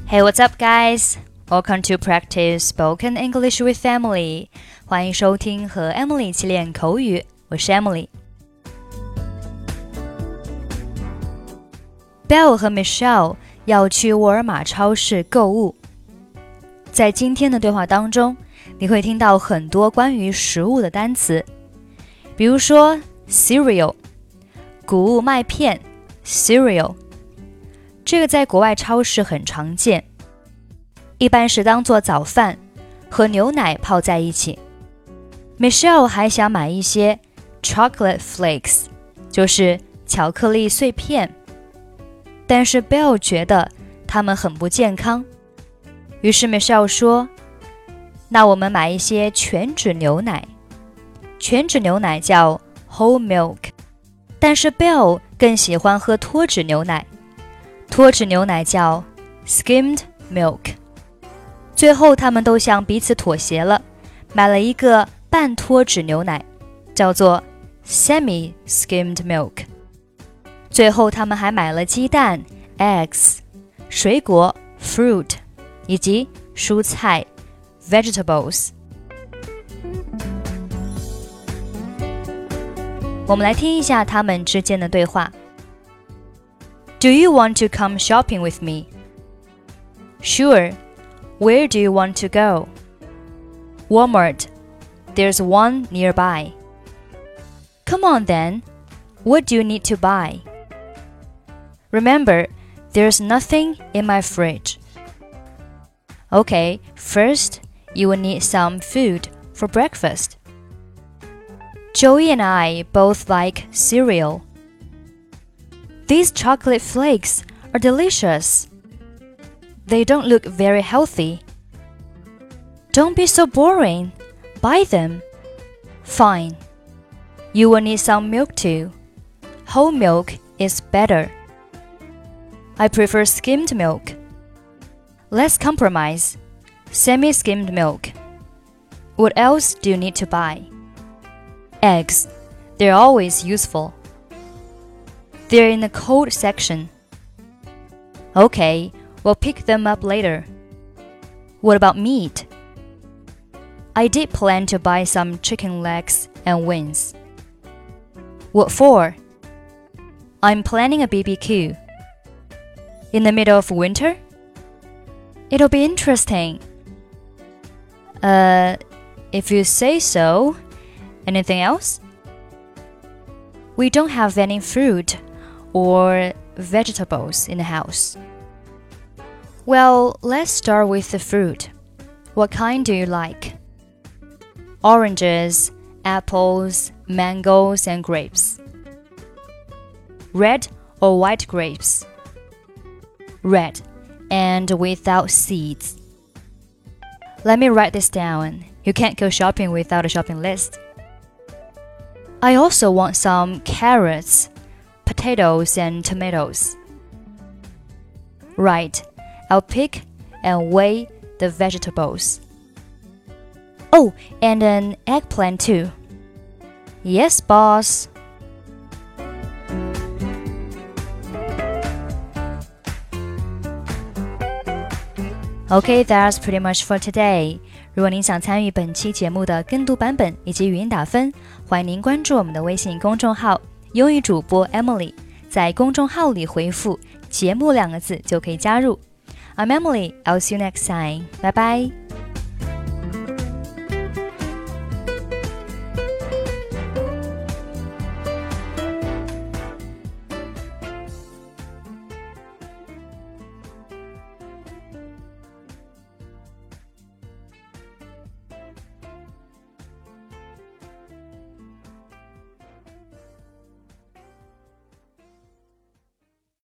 Hey, what's up, guys? Welcome to practice spoken English with Emily. 欢迎收听和 Emily 一起练口语，我是 Emily。Bill 和 Michelle 要去沃尔玛超市购物。在今天的对话当中，你会听到很多关于食物的单词，比如说 cereal 谷物麦片 cereal， 这个在国外超市很常见，一般是当做早饭和牛奶泡在一起。Michelle 还想买一些 chocolate flakes， 就是巧克力碎片，但是 Bill 觉得它们很不健康，于是 Michelle 说，那我们买一些全脂牛奶。全脂牛奶叫 whole milk， 但是 Bill 更喜欢喝脱脂牛奶，脱脂牛奶叫 skimmed milk。 最后他们都向彼此妥协了，买了一个半脱脂牛奶，叫做 semi-skimmed milk。 最后他们还买了鸡蛋 eggs， 水果 fruit， 以及蔬菜 vegetables。 我们来听一下他们之间的对话。 Do you want to come shopping with me? Sure. Where do you want to go? Walmart. There's one nearby. Come on then. What do you need to buy? Remember, there's nothing in my fridge. Okay, first, you will need some food for breakfast. Joey and I both like cereal. These chocolate flakes are delicious. They don't look very healthy. Don't be so boring. Buy them. Fine. You will need some milk too. Whole milk is better. I prefer skimmed milk. Let's compromise. Semi-skimmed milk. What else do you need to buy? Eggs. They're always useful. They're in the cold section. Okay, we'll pick them up later. What about meat? I did plan to buy some chicken legs and wings. What for? I'm planning a BBQ. In the middle of winter? It'll be interesting. If you say so. Anything else? We don't have any fruit or vegetables in the house. Well, let's start with the fruit. What kind do you like? Oranges, apples, mangoes, and grapes. Red or white grapes? Red, and without seeds. Let me write this down. You can't go shopping without a shopping list. I also want some carrots, potatoes, and tomatoes. Right, I'll pick and weigh the vegetables. Oh, and an eggplant too. Yes, boss. Okay, that's pretty much for today. 如果您想参与本期节目的跟读版本以及语音打分，欢迎您关注我们的微信公众号英语主播 Emily， 在公众号里回复节目2个字就可以加入。I'm Emily, I'll see you next time. Bye bye.